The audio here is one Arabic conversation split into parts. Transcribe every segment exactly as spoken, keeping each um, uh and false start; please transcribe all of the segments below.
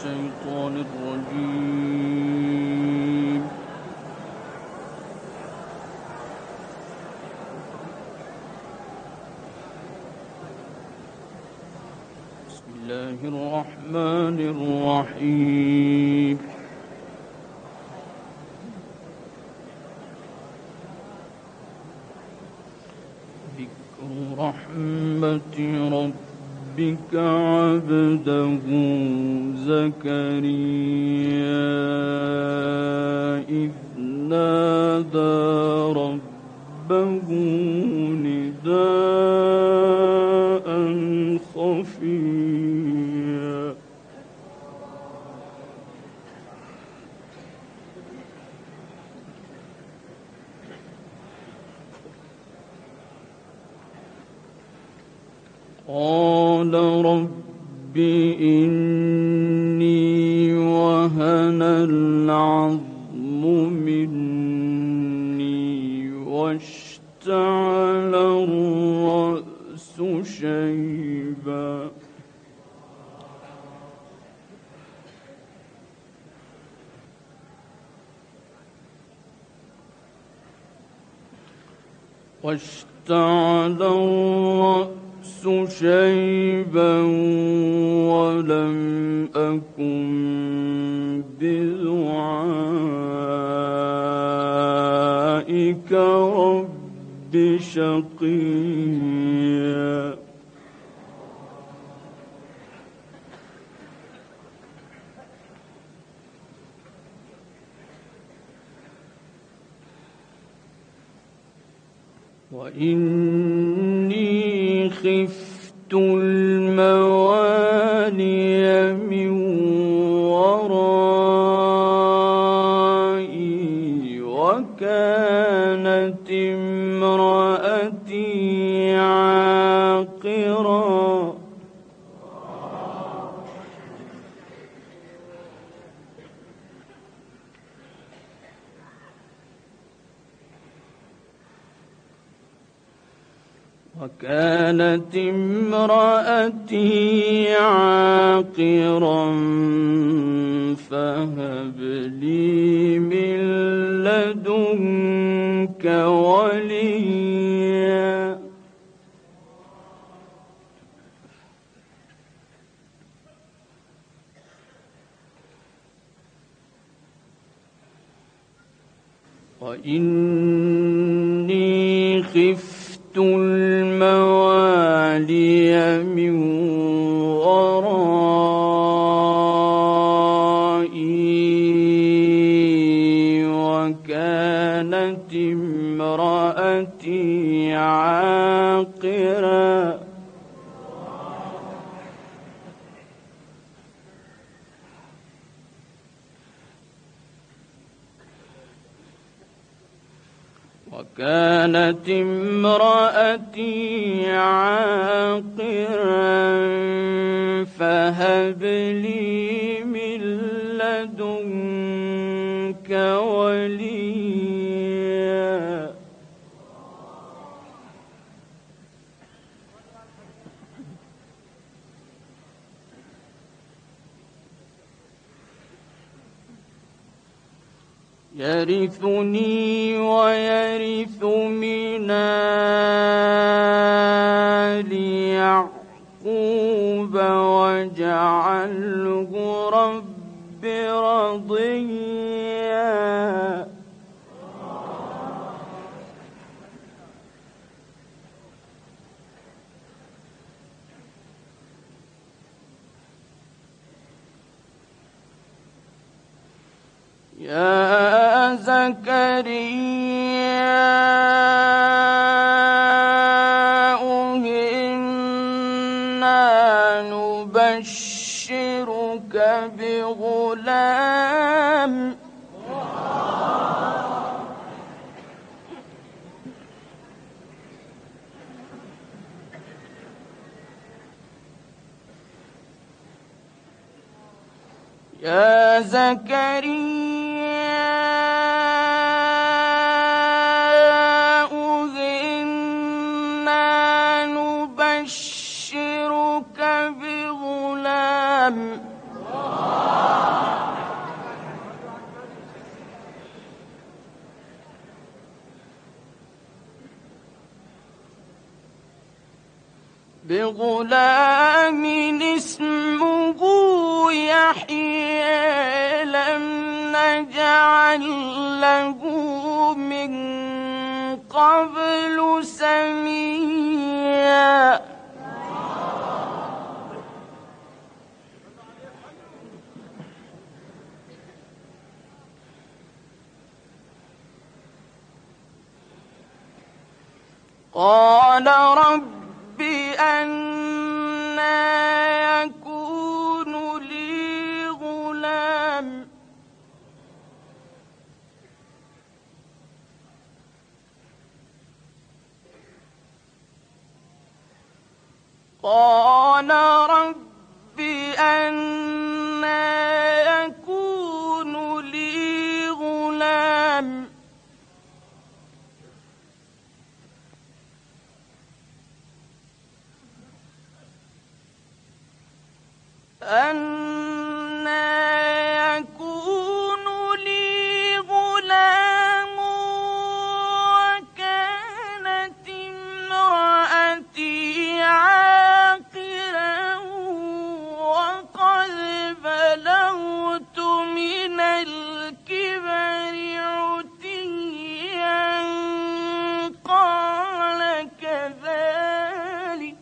الشيطان الرجيم. بسم الله الرحمن الرحيم. ذكر رحمة ربك عبده زكريا إذ نادى ربه نداء خفيا قال رب إني وهن العظم مني واشتعل الرأس شيبا واشتعل الرأس شيبا ولم أكن بدعائك رب شقيا وإني خفت الموالي من ورائي وكانت امرأتي عاقرا وكانت امرأتي عاقرا فهب لي من لدنك وليا وإني خفت الموالي من ورائي وكانت امرأتي عاقرا وكانت امرأتي عاقرا فهب لي من لدنك وليا يرثني ويرث من آل يعقوب واجعله رب رضيا يا زكريا إنا نبشرك بغلام يا زكريا إنا نبشرك بغلام غلام اسمه يحيى لم نجعل له من قبل سميا. قال رب أنى يكون لي غلام قال رب أنى يكون لي غلام أنى يكون لي غلام وكانت امرأتي عاقرا وقد بلغت من الكبر عتيا. قال كذلك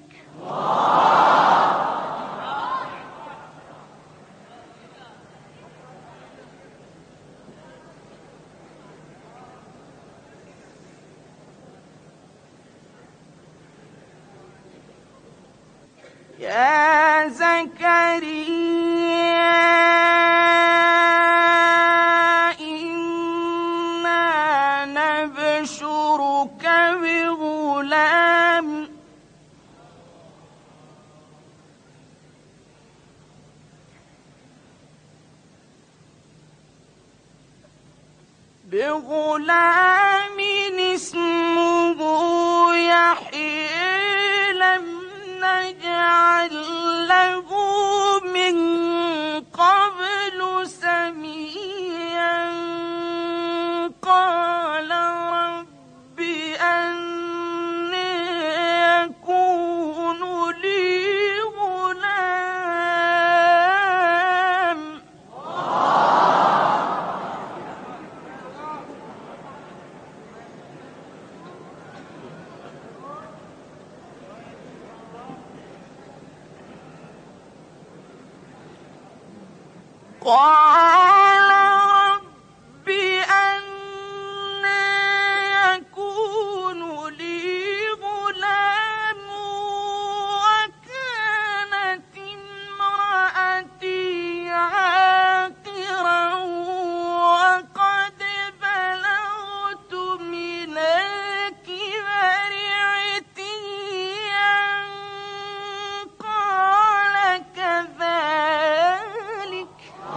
يا زكريا إنا نبشرك بغلام بغلام اسمه يحيى لم نجعل له من قبل سميا. قال رب أنى يكون لي غلام قال رب أنى يكون لي غلام وكانت امرأتي عاقرا وقد بلغت من الكبر عتيا. قال كذلك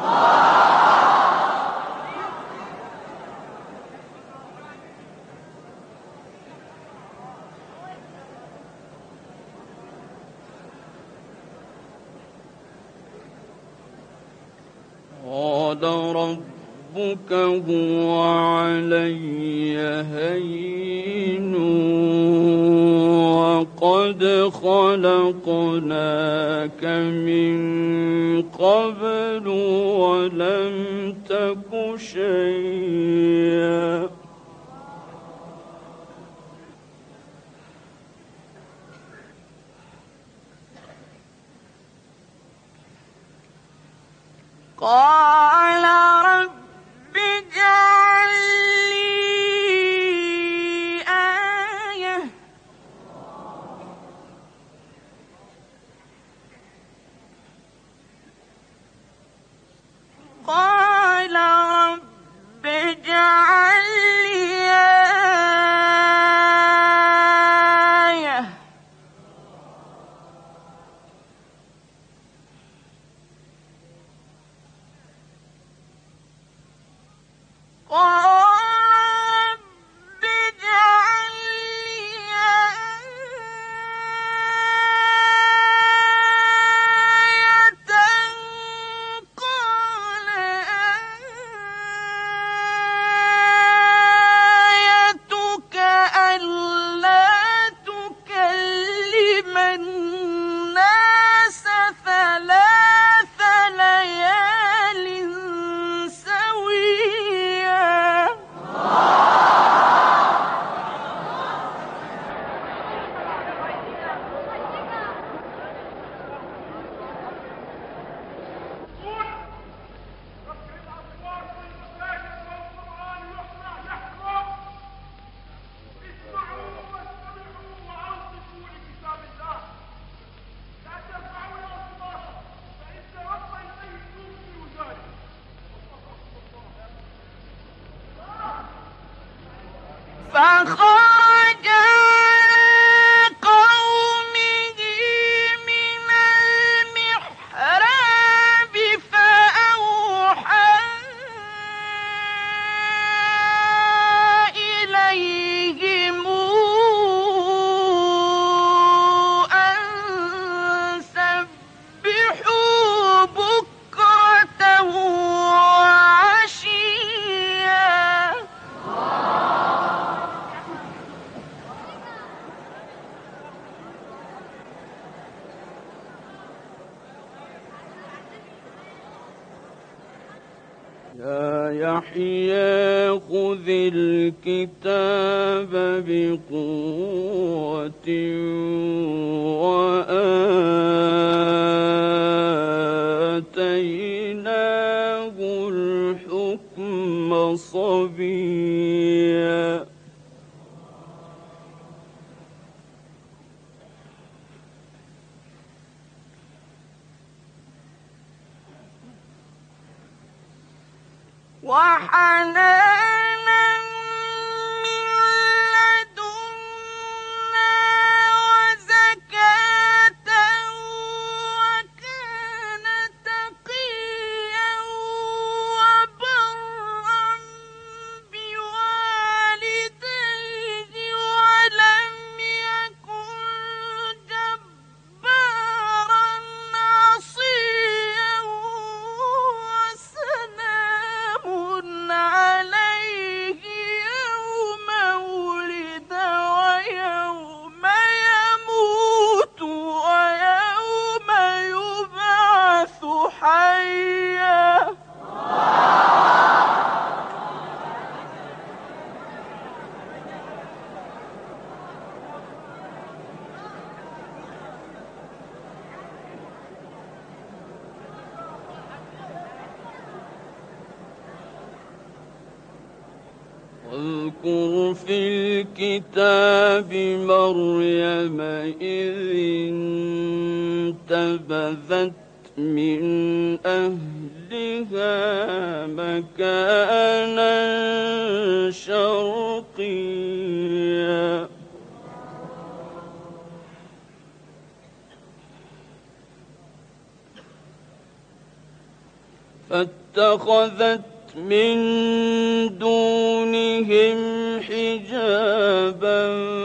قال ربك هو علي هين وقد خلقناك من قبل ولم تك شيئا. قال رب اجعل لي آية قال رب اجعل لي آية قال رب اجعل لي آية قال آيتك ألا تكلم الناس فخرج على قومه من المحراب فأوحى إليهم أن سبحوا بكرة وعشيا. يا يحيى خذ الكتاب بقوة وآتيناه الحكم صبيا. وحنانا من لدنا وزكاة وكان تقيا وبرا بوالديه ولم يكن جبارا عصيا. وسلام عليه يوم ولد ويوم يموت ويوم يبعث حيا. واذكر في الكتاب مريم إذ انتبذت من أهلها مكانا شرقيا. فاتخذت من دونهم حجابا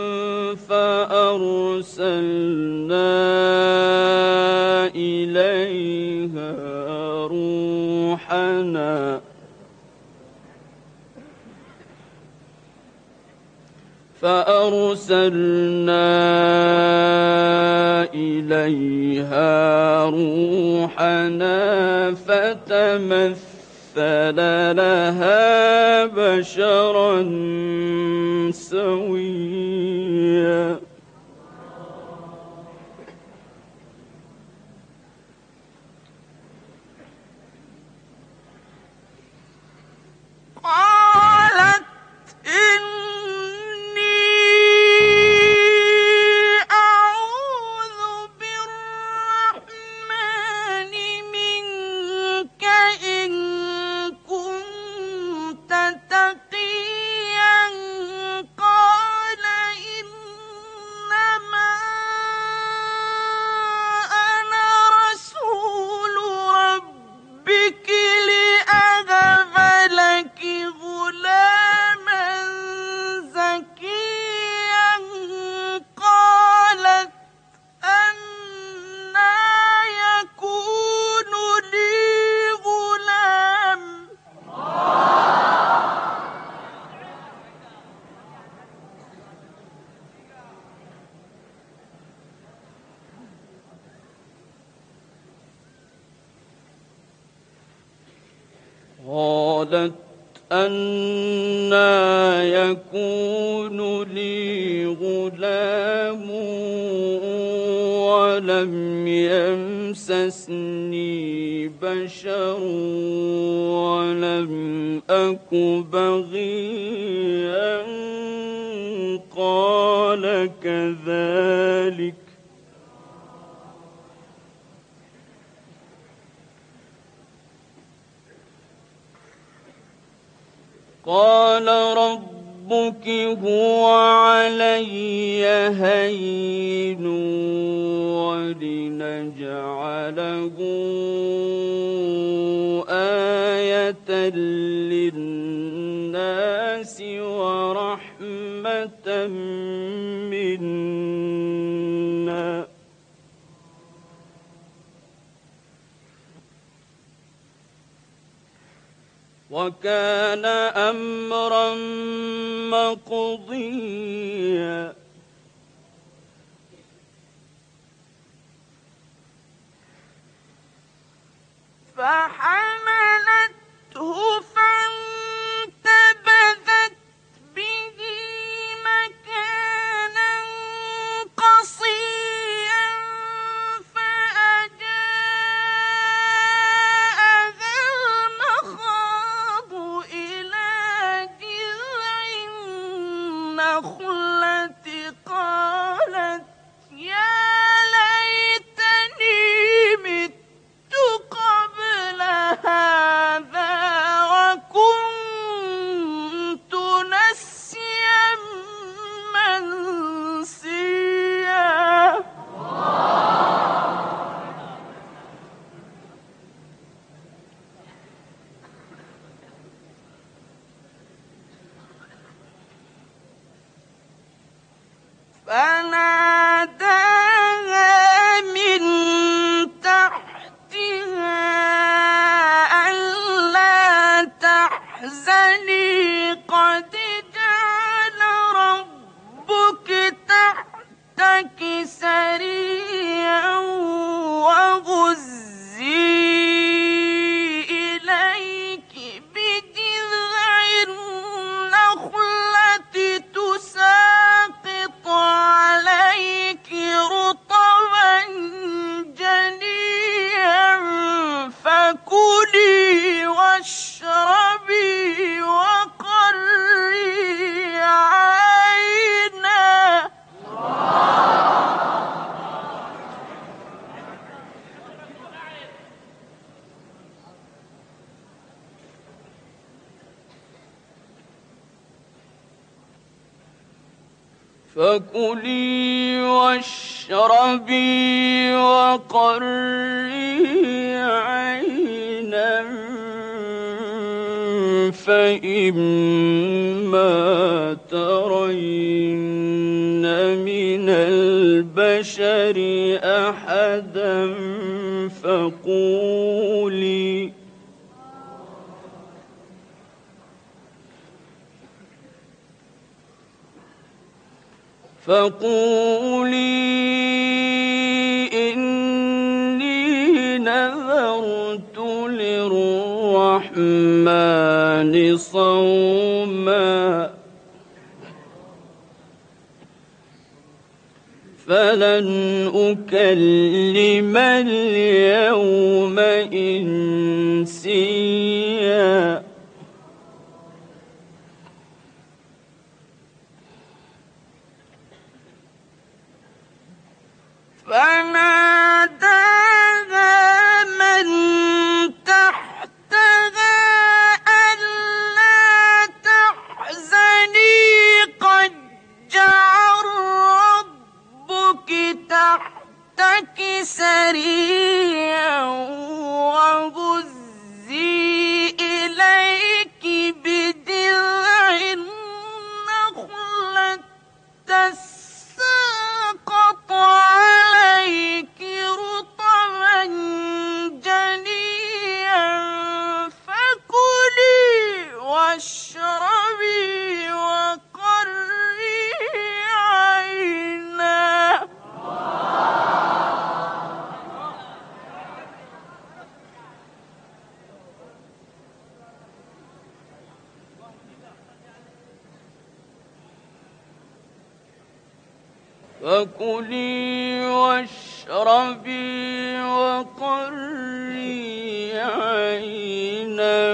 فأرسلنا إليها روحنا فأرسلنا إليها روحنا فتمثل لها بشرا سويا. قالت إني أعوذ بالرحمن منك إن كنت تقيا. قال إنما أنا رسول ربك لأهب لك غلاما زكيا. قالت أنى يكون لي غلام قالت أنى يكون لي غلام ولم يمسسني بشر ولم أك بغيا. قال كذلك قال رب ربك هو علي هين ولنجعله آية للناس ورحمة منا وكان أمرا مقضيا فحملته فانتبذت به مكانا قصيا فأجاءها المخاض إلى جذع النخلة قالت يا ليتني مت قبل هذا وكنت نسيا منسيا فناداها من تحتها ألا تحزني قد جعل ربك تحتك سريا وهزي إليك بجذع النخلة تساقط عليك رطبا جنيا فكلي واشربي وقري عينا فكلي واشربي وقري عينا فإما ترين من البشر أحدا فقولي فقولي إني نذرت للرحمن صوما فلن أكلم اليوم إنسيا فناداها من تحتها ألا تحزني قد جعل ربك تحتك سريا وهزي إليك بجذع النخلة تساقط عليك رطبا جنيا فكلي واشربي وقري عينا فكلي واشربي وقري عينا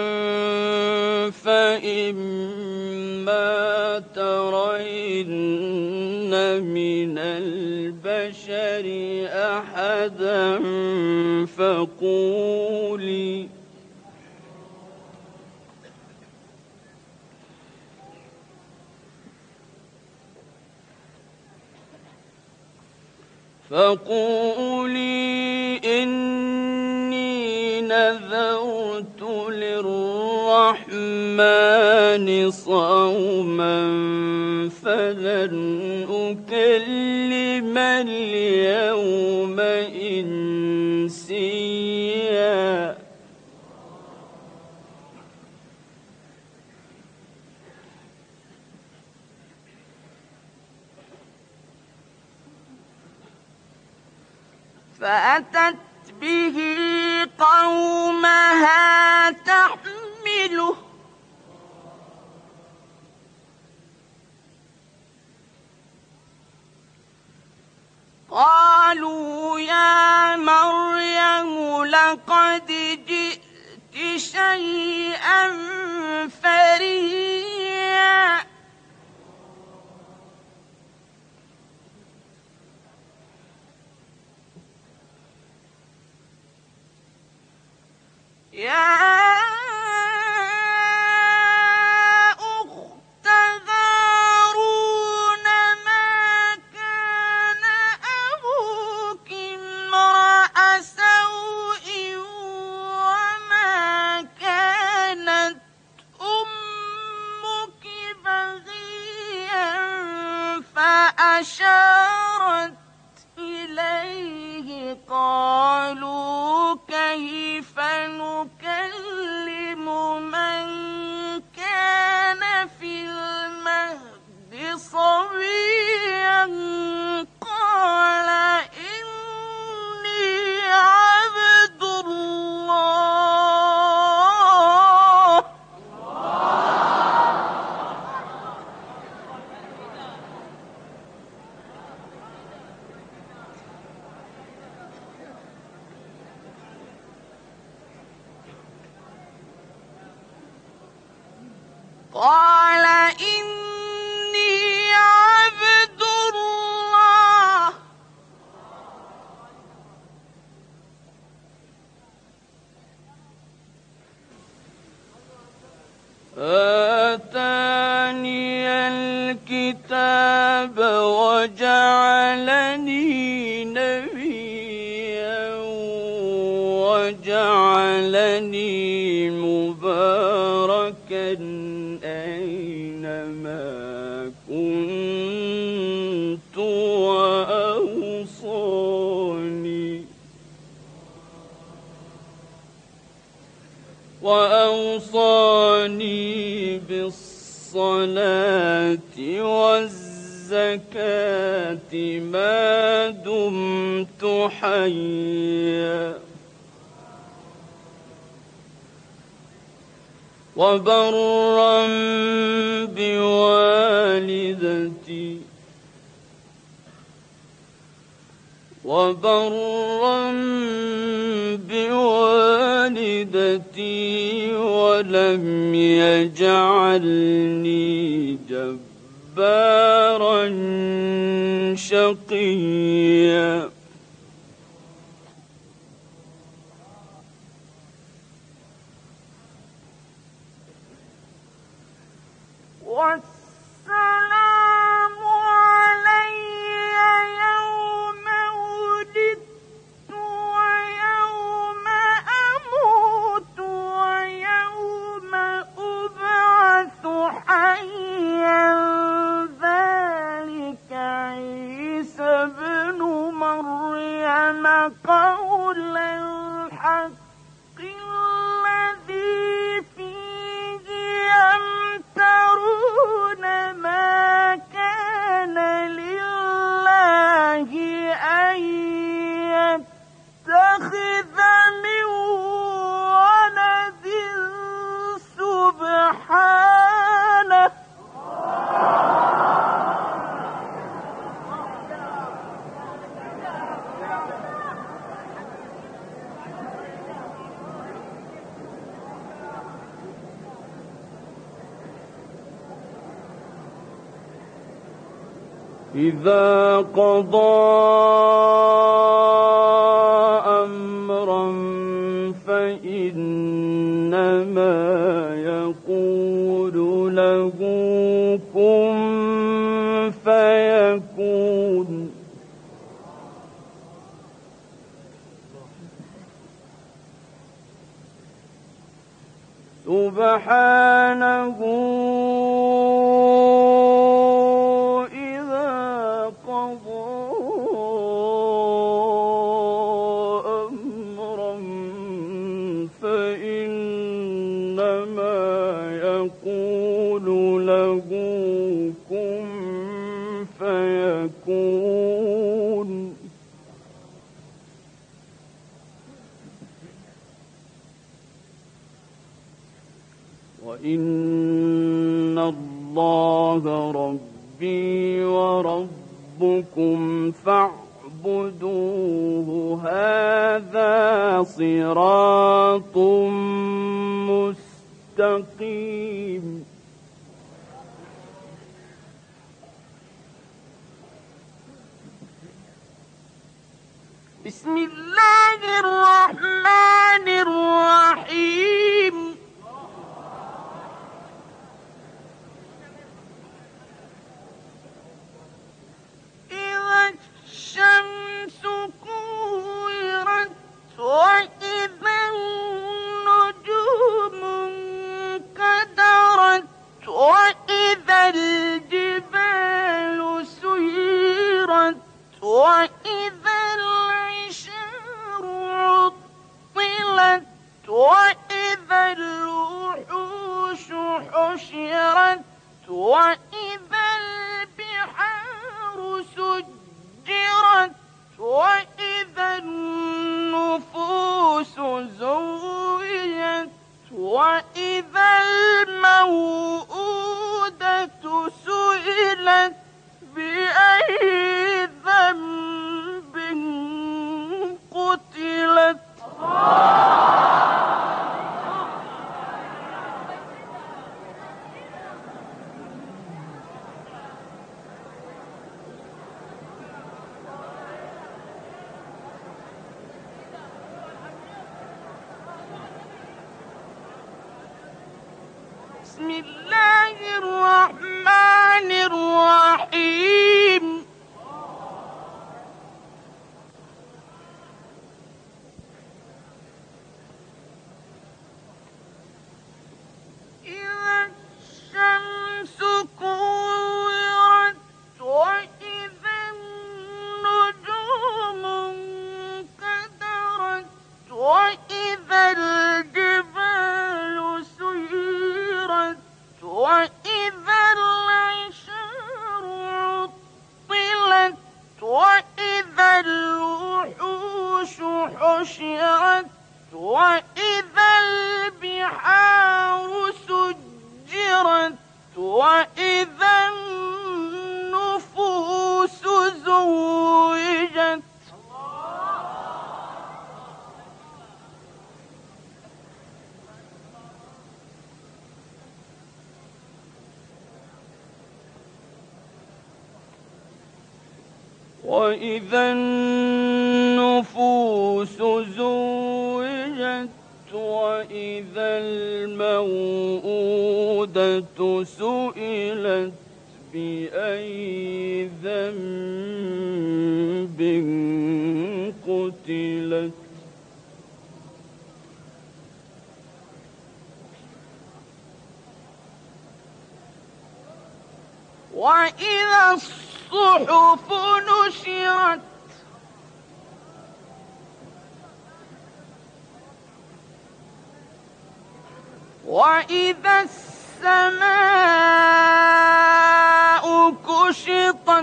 فإما ترين من البشر أحدا فقولي فقولي إني نذرت للرحمن صوما فلن أكلم اليوم إنسيا. فأتت به قومها تحمله قالوا يا مريم لقد جئت شيئا فريا. يا أخت هارون ما كان أبوك امرأ سوء وما كانت أمك بغيا فأشارت إليه قالوا كيف نكلم من كان في المهد صبيا قال إني عبد الله قال إني عبد الله آتاني الكتاب وجعلني نبيا وجعلني مباركا أينما كنت وأوصاني وأوصاني بالصلاة والزكاة ما دمت حيا وبرا بوالدتي وبرا بوالدتي ولم يجعلني جبارا شقيا. والسلام علي يوم ولدت ويوم أموت ويوم أبعث حيا ذلك عيسى ابن مريم قول الحق الذي فيه يمترون ما كان لله أن يتخذ من ولد سبحانه إذا قضى أمرا فإنما يقول له كن فيكون. سبحانه إذا قضى أمرا فإنما يقول له كن فيكون. وإن الله ربي وربكم فاعبدوه هذا صراط مستقيم. بسم الله الرحمن الرحيم. إذا الشمس كورت وإذا النجوم انكدرت وإذا الجبال سيرت وإذا العشار عطلت وإذا الوحوش حشرت وإذا البحار سجرت وإذا النفوس زوجت وإذا الموءودة سئلت بأي ذنب قتلت. بسم الله الرحمن الرحيم. إذا الشمس كورت وإذا النجوم انكدرت وإذا الجبال سيرت وإذا العشار عطلت وإذا الوحوش حشرت وإذا البحار سجرت وإذا النفوس زوجت. وإذا النفوس زوجت وإذا الموءودة سئلت بأي ذنب قتلت. وإذا الصحف نشرت وإذا السماء كشطت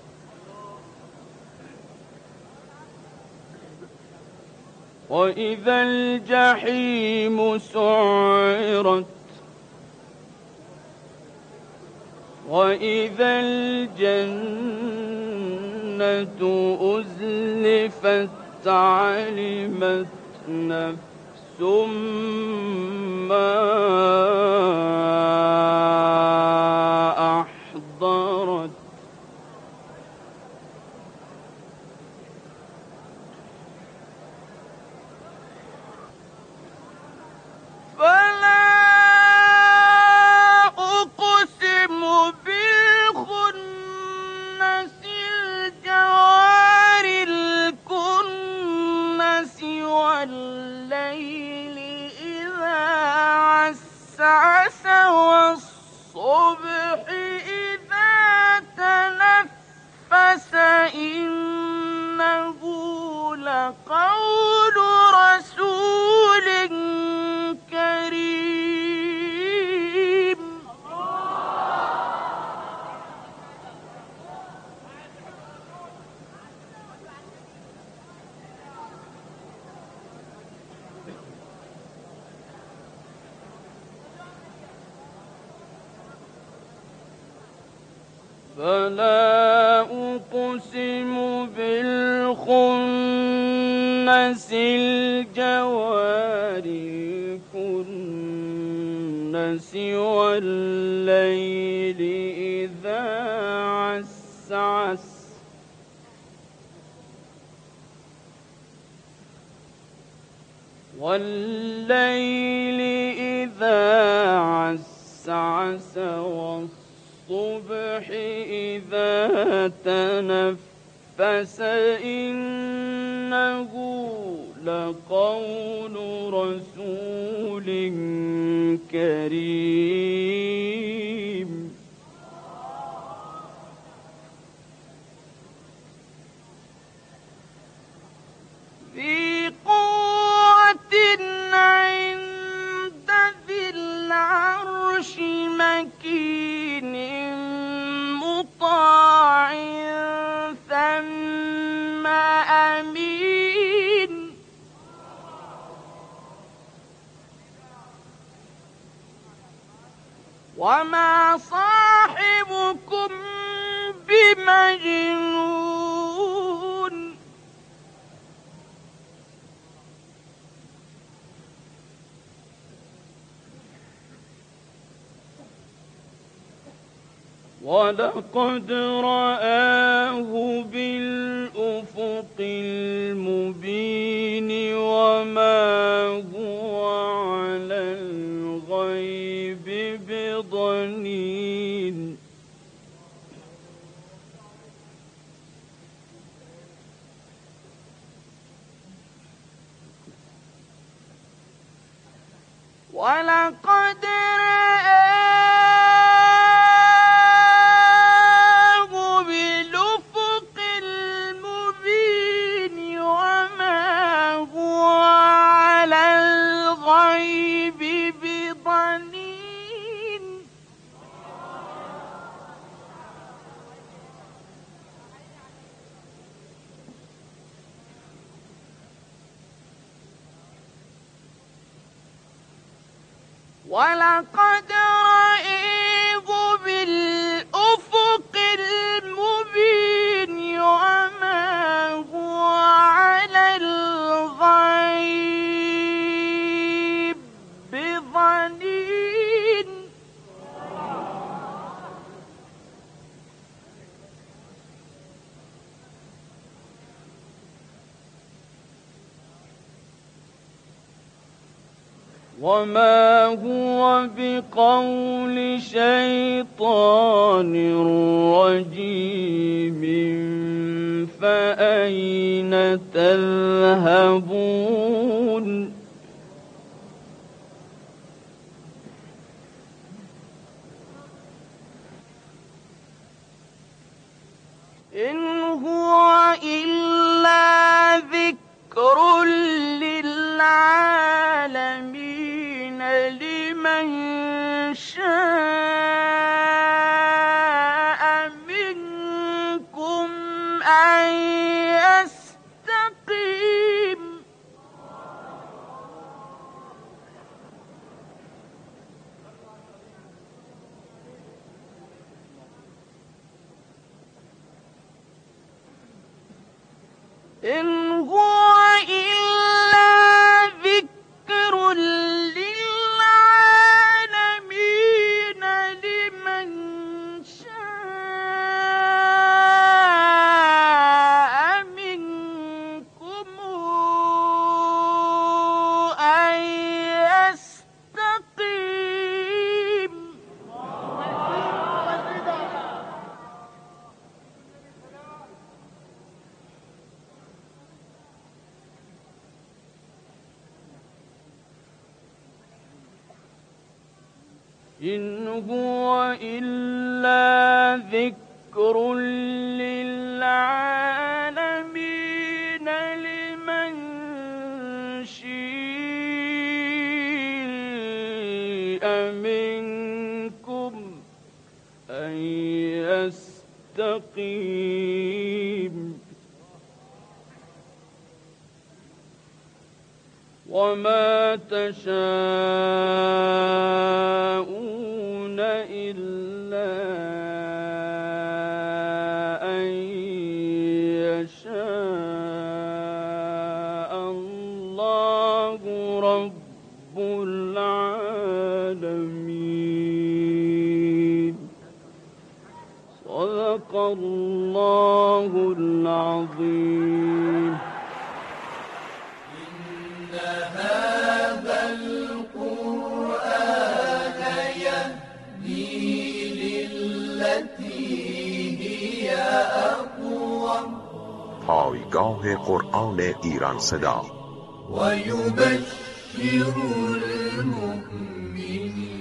وإذا الجحيم سعرت وإذا الجنة أزلفت علمت نفس ما أحضرت. فلا أقسم بالخنس الجوار الكنس والليل إذا عسعس عسعس والصبح إذا تنفس إنه لقول رسول كريم. فلا أقسم بالخنس الجوار الكنس والليل إذا عسعس والليل إذا عسعس والصبح إذا تنفس إنه لقول رسول كريم. ذي قوة عند ذي العرش مكين مطاع ثم أمين. وما صاحبكم بمجنون. ولقد رآه بالأفق المبين وما هو على الغيب بضنين. ولقد رآه بالأفق المبين وما هو على الغيب بضنين. ولقد رآه بالأفق المبين وما هو على الغيب بضنين. وما هو بقول شيطان رجيم فأين تذهبون. إن هو إلا ذكر للعالمين لمن شاء منكم أن يستقيم. إن هو إلا ذكر للعالمين لمن شاء منكم أن يستقيم. إن هو إلا ذكر للعالمين لمن شيء منكم أن يستقيم وما تشاءون إلا أن يشاء الله رب العالمين. صدق الله العظيم. هذا القرآن يهدي للتي هي أقوم. پایگاه قرآن ایران صدا و یبشر المؤمنین